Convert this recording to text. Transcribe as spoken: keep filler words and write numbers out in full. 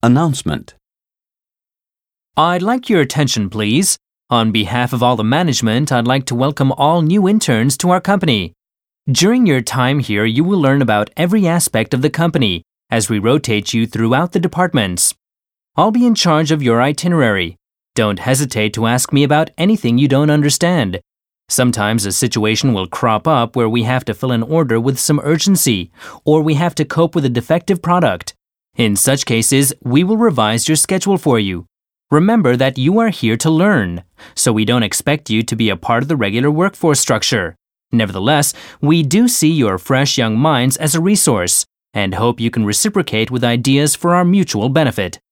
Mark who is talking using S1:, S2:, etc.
S1: Announcement.
S2: I'd like your attention, please. On behalf of all the management, I'd like to welcome all new interns to our company. During your time here, you will learn about every aspect of the company as we rotate you throughout the departments. I'll be in charge of your itinerary. Don't hesitate to ask me about anything you don't understand. Sometimes a situation will crop up where we have to fill an order with some urgency, or we have to cope with a defective product. In such cases, we will revise your schedule for you. Remember that you are here to learn, so we don't expect you to be a part of the regular workforce structure. Nevertheless, we do see your fresh young minds as a resource and hope you can reciprocate with ideas for our mutual benefit.